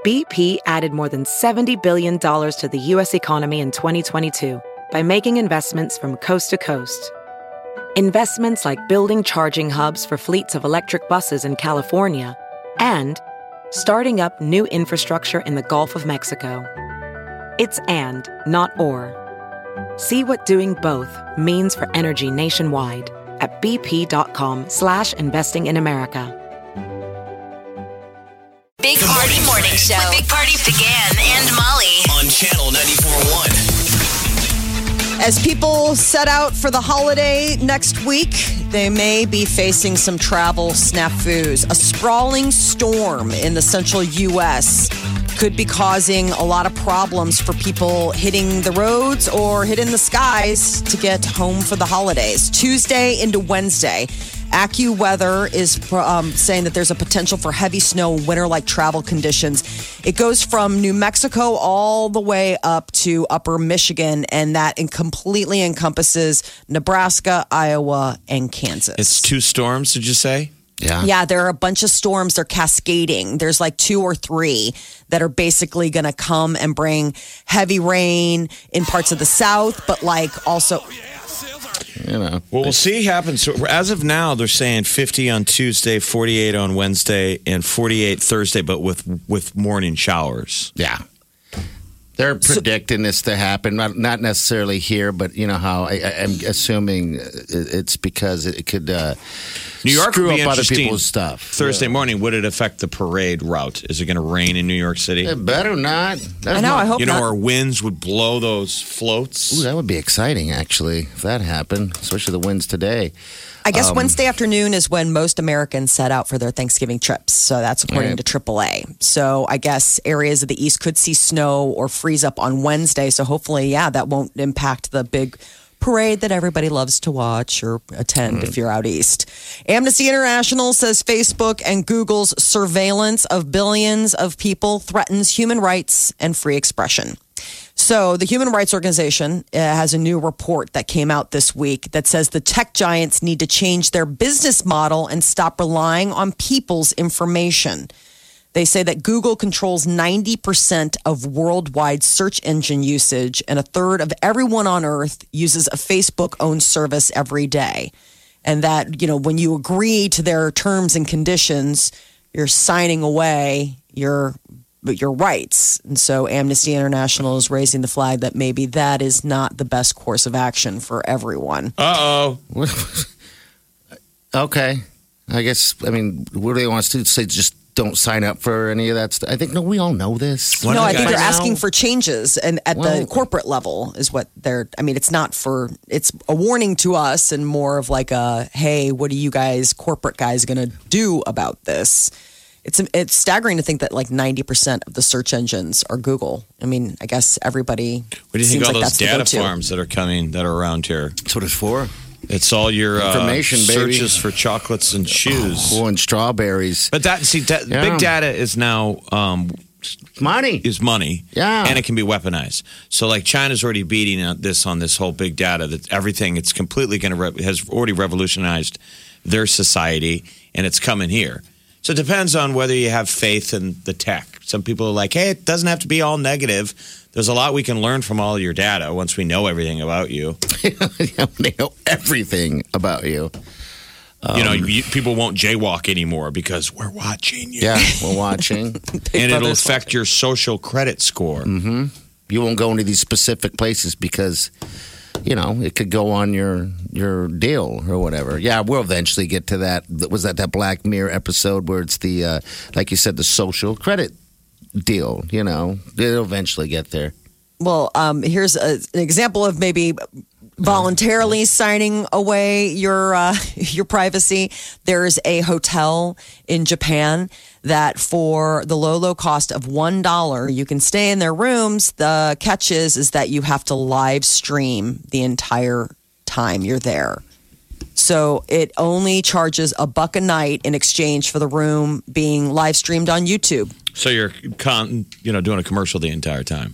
BP added more than $70 billion to the U.S. economy in 2022 by making investments from coast to coast. Investments like building charging hubs for fleets of electric buses in California and starting up new infrastructure in the Gulf of Mexico. It's and, not or. See what doing both means for energy nationwide at bp.com/investing in America. Big Party Morning Show with Big Party began and Molly on Channel 94.1. As people set out for the holiday next week, they may be facing some travel snafus. A sprawling storm in the central U.S. could be causing a lot of problems for people hitting the roads or hitting the skies to get home for the holidays. Tuesday into Wednesday, AccuWeather is saying that there's a potential for heavy snow and winter-like travel conditions. It goes from New Mexico all the way up to upper Michigan, and that completely encompasses Nebraska, Iowa, and Kansas. It's 2 storms, did you say? Yeah, there are a bunch of storms. They're cascading. There's like 2 or 3 that are basically going to come and bring heavy rain in parts of the South, but like also... Well, we'll see what happens. So as of now, they're saying 50 on Tuesday, 48 on Wednesday, and 48 Thursday, but with morning showers. Yeah. They're predicting this to happen, not necessarily here, but you know how I'm assuming it's because it could New York screw would be up other interesting. people's stuff. Thursday morning, would it affect the parade route? Is it going to rain in New York City? It better not. I know, I hope not. Our winds would blow those floats. Ooh, that would be exciting, actually, if that happened, especially the winds today. I guess Wednesday afternoon is when most Americans set out for their Thanksgiving trips. So that's according to AAA. So I guess areas of the East could see snow or freeze up on Wednesday. So hopefully, that won't impact the big parade that everybody loves to watch or attend if you're out east. Amnesty International says Facebook and Google's surveillance of billions of people threatens human rights and free expression. So the Human Rights Organization has a new report that came out this week that says the tech giants need to change their business model and stop relying on people's information. They say that Google controls 90% of worldwide search engine usage, and a third of everyone on Earth uses a Facebook-owned service every day. And that, when you agree to their terms and conditions, you're signing away your rights. And so Amnesty International is raising the flag that maybe that is not the best course of action for everyone. Uh-oh. Okay. I guess, what do they want us to do? Say just don't sign up for any of that stuff? I think, no, we all know this. No, I think they're asking for changes and at the corporate level is what they're, it's not for, it's a warning to us and more of like a, hey, what are you guys, corporate guys, going to do about this? It's staggering to think that like 90% of the search engines are Google. I guess everybody. What do you think all those data farms that are coming that are around here? That's what it's for. It's all your information, searches for chocolates and shoes. And strawberries. But big data is now money. Is money. Yeah. And it can be weaponized. So like China's already beating on this whole big data that everything it's completely has already revolutionized their society and it's coming here. So it depends on whether you have faith in the tech. Some people are like, hey, it doesn't have to be all negative. There's a lot we can learn from all your data once we know everything about you. They know everything about you. People won't jaywalk anymore because we're watching you. Yeah, we're watching. And it'll affect your social credit score. Mm-hmm. You won't go into these specific places because... it could go on your deal or whatever. Yeah, we'll eventually get to that. Was that Black Mirror episode where it's the, like you said, the social credit deal? It'll eventually get there. Well, here's an example of maybe voluntarily signing away your privacy. There's a hotel in Japan that for the low cost of $1, you can stay in their rooms. The catch is that you have to live stream the entire time you're there. So it only charges $1 a night in exchange for the room being live streamed on YouTube. So you're doing a commercial the entire time.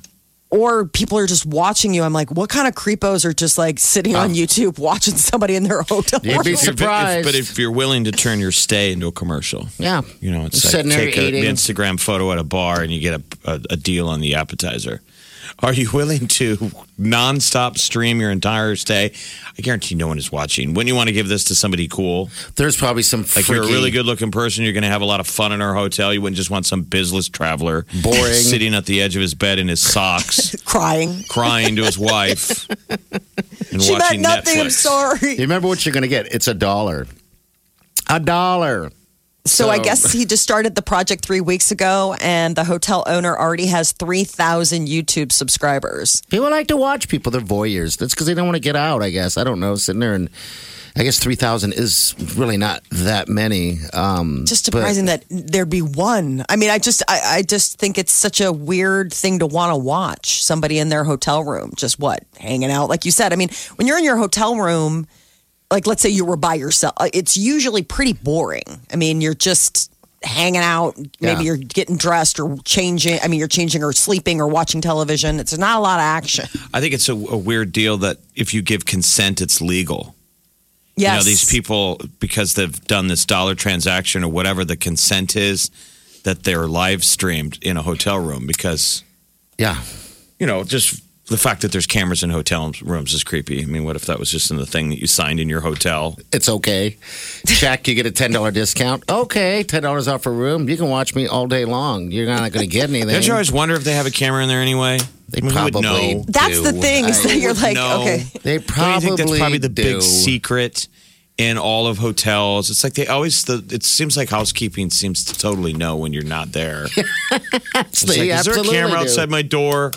or people are just watching you. I'm like, what kind of creepos are just like sitting on YouTube watching somebody in their hotel You'd be room? surprised. But if you're willing to turn your stay into a commercial, Yeah. you know, it's Sitting like there take the eating. Instagram photo at a bar and you get a deal on the appetizer. Are you willing to nonstop stream your entire stay? I guarantee no one is watching. Wouldn't you want to give this to somebody cool? There's probably some Like you're a really good-looking person. You're going to have a lot of fun in our hotel. You wouldn't just want some business traveler Boring. sitting at the edge of his bed in his socks, Crying. crying to his wife, and She meant watching nothing. Netflix. I'm sorry. You remember what you're going to get? It's $1. $1. So I guess he just started the project 3 weeks ago, and the hotel owner already has 3,000 YouTube subscribers. People like to watch people. They're voyeurs. That's because they don't want to get out, I guess. I don't know. Sitting there and I guess 3,000 is really not that many. Just surprising that there'd be one. I mean, I just think it's such a weird thing to want to watch somebody in their hotel room, just hanging out. Like you said, I mean, when you're in your hotel room, like let's say you were by yourself, it's usually pretty boring. I mean, you're just hanging out. Maybe you're getting dressed or changing. I mean, you're changing or sleeping or watching television. It's not a lot of action. I think it's a weird deal that if you give consent, it's legal. Yes. You know, these people, because they've done this dollar transaction or whatever the consent is, that they're live streamed in a hotel room because, Yeah. you know, just the fact that there's cameras in hotel rooms is creepy. I mean, what if that was just in the thing that you signed in your hotel? It's okay. Check, you get a $10 discount. Okay, $10 off a room. You can watch me all day long. You're not going to get anything. Don't you always wonder if they have a camera in there anyway? They I mean, who would probably know? That's the do. thing. Is that you're like, No. okay. They Don't you probably think that's probably the do. big secret in all of hotels? It's like they always, it seems like housekeeping seems to totally know when you're not there. It's like, They is there a absolutely camera do. outside my door?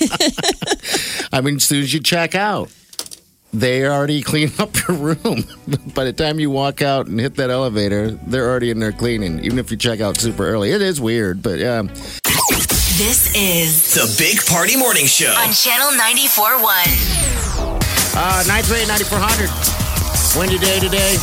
I mean, as soon as you check out, they already clean up your room. By the time you walk out and hit that elevator, they're already in there cleaning, even if you check out super early. It is weird, but yeah. This is The Big Party Morning Show. on Channel 94.1. 938-9400. Windy day today.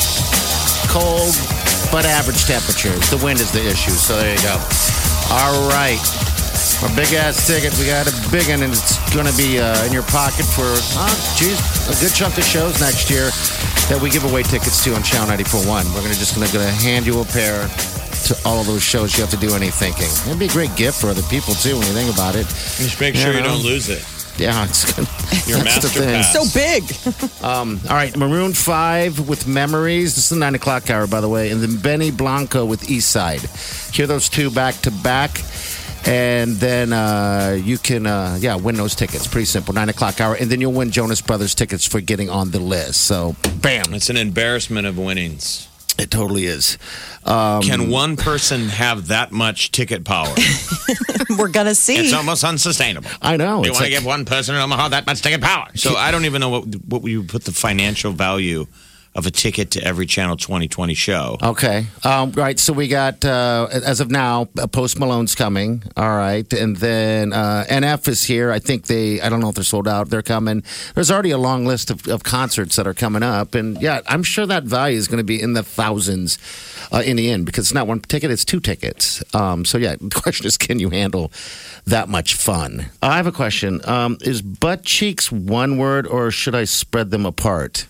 Cold, but average temperatures. The wind is the issue, so there you go. All right. Our big-ass ticket. We got a big one, and it's going to be in your pocket for, a good chunk of shows next year that we give away tickets to on Channel 94.1. We're just going to hand you a pair to all of those shows. You have to do any thinking. It'd be a great gift for other people, too, when you think about it. Just make sure you don't lose it. Yeah, it's good. Your That's the master thing. pass. So big. All right, Maroon 5 with Memories. This is the 9 o'clock hour, by the way. And then Benny Blanco with East Side. Hear those two back to back. And then you can, win those tickets. Pretty simple. 9 o'clock hour. And then you'll win Jonas Brothers tickets for getting on the list. So, bam. It's an embarrassment of winnings. It totally is. Can one person have that much ticket power? We're going to see. It's almost unsustainable. I know. You It's want to like- give one person in Omaha that much ticket power. So I don't even know what you put the financial value of a ticket to every Channel 2020 show. Okay. Right. So we got, as of now, Post Malone's coming. All right. And then NF is here. I think I don't know if they're sold out. They're coming. There's already a long list of concerts that are coming up. And yeah, I'm sure that value is going to be in the thousands in the end because it's not one ticket, it's two tickets. So yeah, the question is, can you handle that much fun? I have a question. Is butt cheeks one word or should I spread them apart?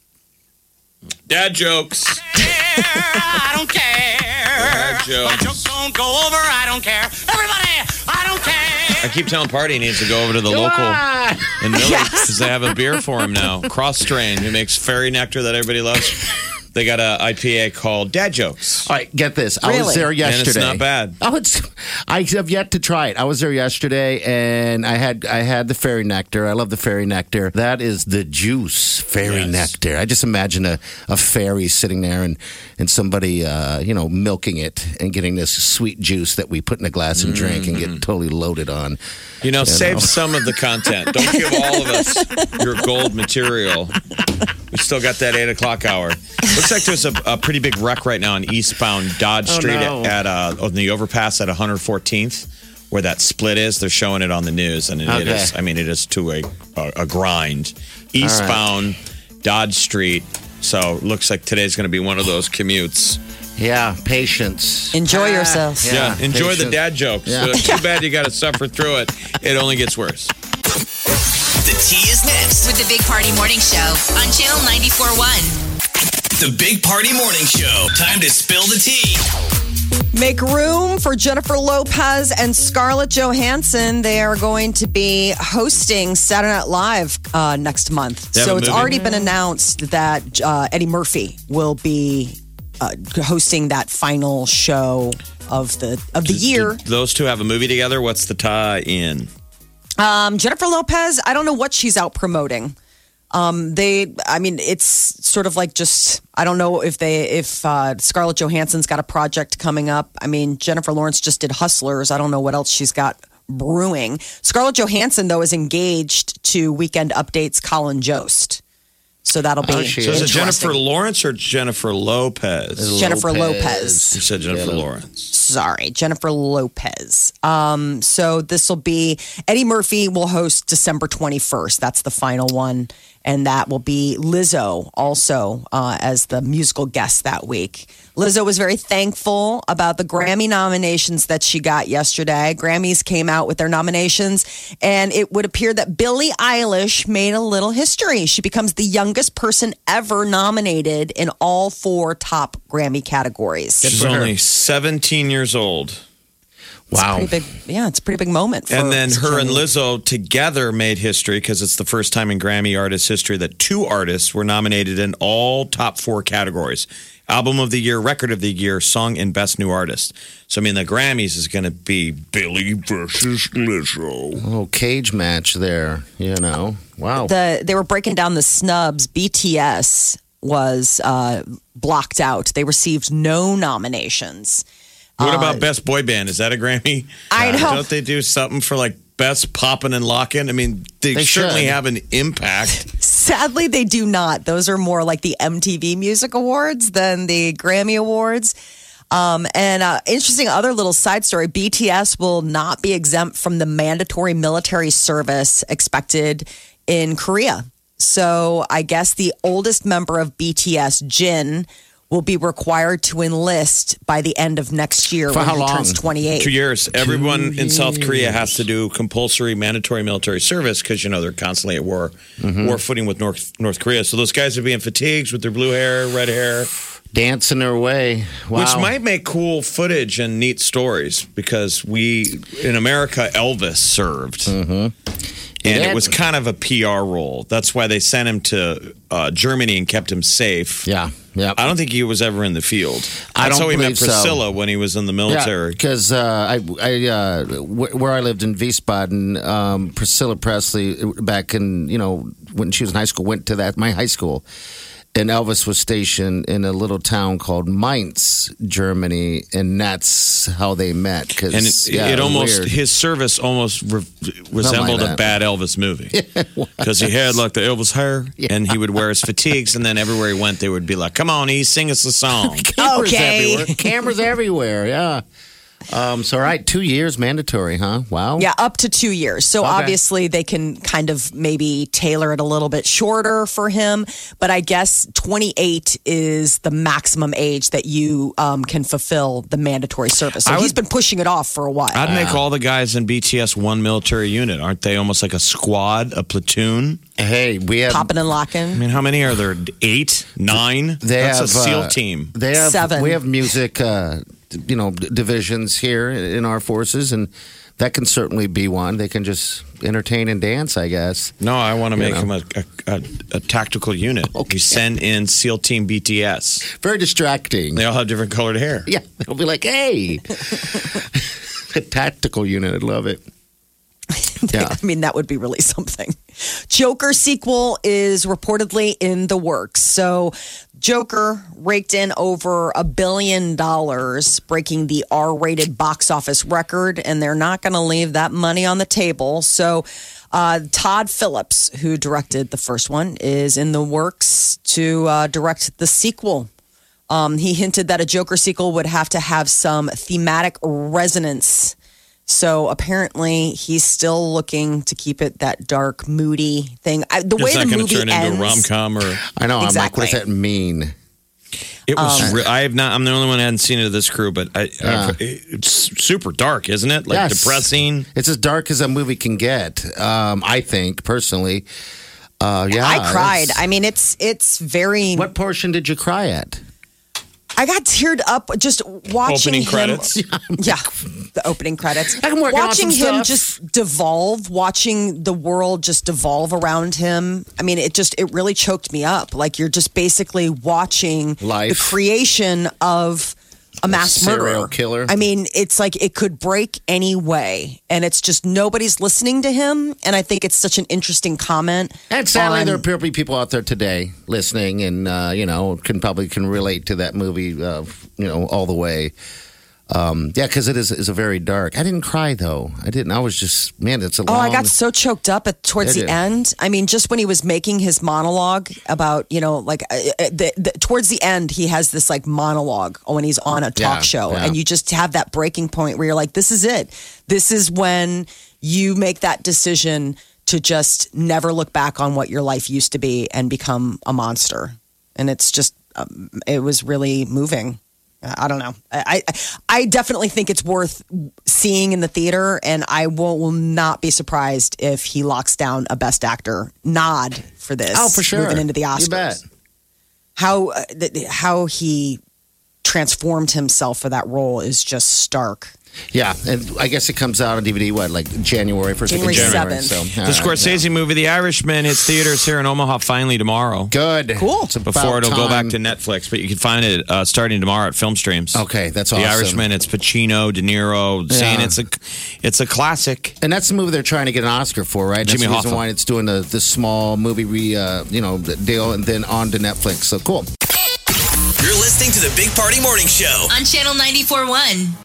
Dad jokes. I don't care. Dad My jokes. jokes don't go over. I don't care. Everybody, I don't care. I keep telling Party he needs to go over to the local in Millard because they have a beer for him now. Cross Strain, who makes fairy nectar that everybody loves. They got a IPA called Dad Jokes. All right, get this. I was Really? there And yesterday. it's not bad. I have yet to try it. I was there yesterday, and I had the fairy nectar. I love the fairy nectar. That is the juice, fairy Yes. nectar. I just imagine a fairy sitting there and somebody milking it and getting this sweet juice that we put in a glass and drink and get totally loaded on. You know, save some of the content. Don't give all of us your gold material. We still got that 8 o'clock hour. Looks like there's a pretty big wreck right now on eastbound Dodge Street no. on the overpass at 114th, where that split is. They're showing it on the news, and it Okay. is. I mean, it is to a grind. Eastbound Dodge Street So looks like today's going to be one of those commutes. Yeah, patience. Enjoy yourself. Yeah, enjoy the patience. dad jokes. Yeah. Too bad you got to suffer through it. It only gets worse. The tea is next. With the Big Party Morning Show on Channel 94.1. The Big Party Morning Show. Time to spill the tea. Make room for Jennifer Lopez and Scarlett Johansson. They are going to be hosting Saturday Night Live next month. They have So a it's movie? already been announced that Eddie Murphy will be hosting that final show of the year. Did those two have a movie together? What's the tie-in? Jennifer Lopez, I don't know what she's out promoting. It's sort of like just, I don't know if Scarlett Johansson's got a project coming up. I mean, Jennifer Lawrence just did Hustlers. I don't know what else she's got brewing. Scarlett Johansson, though, is engaged to Weekend Update's Colin Jost. So that'll be she So is it Interesting. Jennifer Lawrence or Jennifer Lopez? Jennifer Lopez. You said Jennifer Lawrence. Sorry, Jennifer Lopez. So this will be Eddie Murphy will host December 21st. That's the final one. And that will be Lizzo also as the musical guest that week. Lizzo was very thankful about the Grammy nominations that she got yesterday. Grammys came out with their nominations, and it would appear that Billie Eilish made a little history. She becomes the youngest person ever nominated in all 4 top Grammy categories. She's for her. only 17 years old. Wow. Pretty big, yeah, it's a pretty big moment. And then her and Jenny. Lizzo together made history because it's the first time in Grammy artist history that 2 artists were nominated in all top 4 categories. Album of the Year, Record of the Year, Song, and Best New Artist. So, I mean, the Grammys is going to be Billy versus Lizzo. A little cage match there, Wow. They were breaking down the snubs. BTS was blocked out. They received no nominations. What about Best Boy Band? Is that a Grammy? I know. Don't they do something for like Best Poppin' and Lockin'? I mean, they certainly should. have an impact. Sadly, they do not. Those are more like the MTV Music Awards than the Grammy Awards. Interesting other little side story, BTS will not be exempt from the mandatory military service expected in Korea. So I guess the oldest member of BTS, Jin, will be required to enlist by the end of next year For when how he long? turns 28. 2 years. Everyone in South Korea has to do compulsory mandatory military service because, they're constantly at war footing with North Korea. So those guys are being fatigued with their blue hair, red hair. Dancing their way. Wow. Which might make cool footage and neat stories because in America, Elvis served. And it was kind of a PR role. That's why they sent him to Germany and kept him safe. Yeah. I don't think he was ever in the field. I That's don't how he met believe so. Priscilla when he was in the military. Because where I lived in Wiesbaden, Priscilla Presley, back in, when she was in high school, went to my high school. And Elvis was stationed in a little town called Mainz, Germany, and that's how they met. And it almost, weird. his service almost resembled a that. bad Elvis movie. Because he had like the Elvis hair and he would wear his fatigues. And then everywhere he went, they would be like, come on, E, sing us a song. Cameras Okay. everywhere. Cameras everywhere, yeah. So, all right, 2 years mandatory, huh? Wow. Yeah, up to 2 years. So obviously they can kind of maybe tailor it a little bit shorter for him. But I guess 28 is the maximum age that you can fulfill the mandatory service. So he's been pushing it off for a while. I'd make all the guys in BTS one military unit. Aren't they almost like a squad, a platoon? Hey, we have. Popping and locking. I mean, how many are there? 8, 9? That's a SEAL team. They have 7. We have music, divisions here in our forces, and that can certainly be one. They can just entertain and dance, I guess. No, I want to make them a tactical unit. Okay. You send in SEAL Team BTS. Very distracting. They all have different colored hair. Yeah, they'll be like, hey, a tactical unit. I love it. Yeah. I mean, that would be really something. Joker sequel is reportedly in the works. So Joker raked in over $1 billion, breaking the R-rated box office record, and they're not going to leave that money on the table. So Todd Phillips, who directed the first one, is in the works to direct the sequel. He hinted that a Joker sequel would have to have some thematic resonance. So apparently he's still looking to keep it that dark, moody thing. The way It's the not going movie to turn ends, into a rom-com or... I know. Exactly. I'm like, what does that mean? It was. I have not. I'm the only one who hadn't seen it of this crew, but it's super dark, isn't it? Like Yes. depressing. It's as dark as a movie can get. I think personally. I cried. I mean, it's very. What portion did you cry at? I got teared up just watching Opening him. credits. Yeah, the opening credits. I'm working on Watching some him stuff. just devolve, watching the world just devolve around him. I mean, it really choked me up. Like you're just basically watching Life. the creation of a mass serial murderer. killer. I mean, it's like it could break any way, and it's just nobody's listening to him. And I think it's such an interesting comment. And sadly, on- there are probably people out there today listening, and can relate to that movie. All the way. Because it is a very dark. I didn't cry though. I didn't. I was just it's a long. Oh, I got so choked up towards I the did. end. I mean, just when he was making his monologue about, towards the end, he has this like monologue when he's on a talk show. yeah. And you just have that breaking point where you're like, this is it. This is when you make that decision to just never look back on what your life used to be and become a monster. And it's just, it was really moving. I don't know. I definitely think it's worth seeing in the theater, and I will not be surprised if he locks down a Best Actor nod for this. Oh, for sure. Moving into the Oscars. You bet. How he transformed himself for that role is just stark. Yeah, and I guess it comes out on DVD. What, January 1st? January 7th. So, The Scorsese movie, The Irishman, hits theaters here in Omaha finally tomorrow. Good. Cool. It's about Before it'll go back time. to Netflix, but you can find it starting tomorrow at Film Streams. Okay, that's awesome. The Irishman, it's Pacino, De Niro, saying it's a classic. And that's the movie they're trying to get an Oscar for, right? That's Jimmy the reason Hoffa. why it's doing the small movie deal and then on to Netflix. So cool. You're listening to the Big Party Morning Show. On Channel 94.1.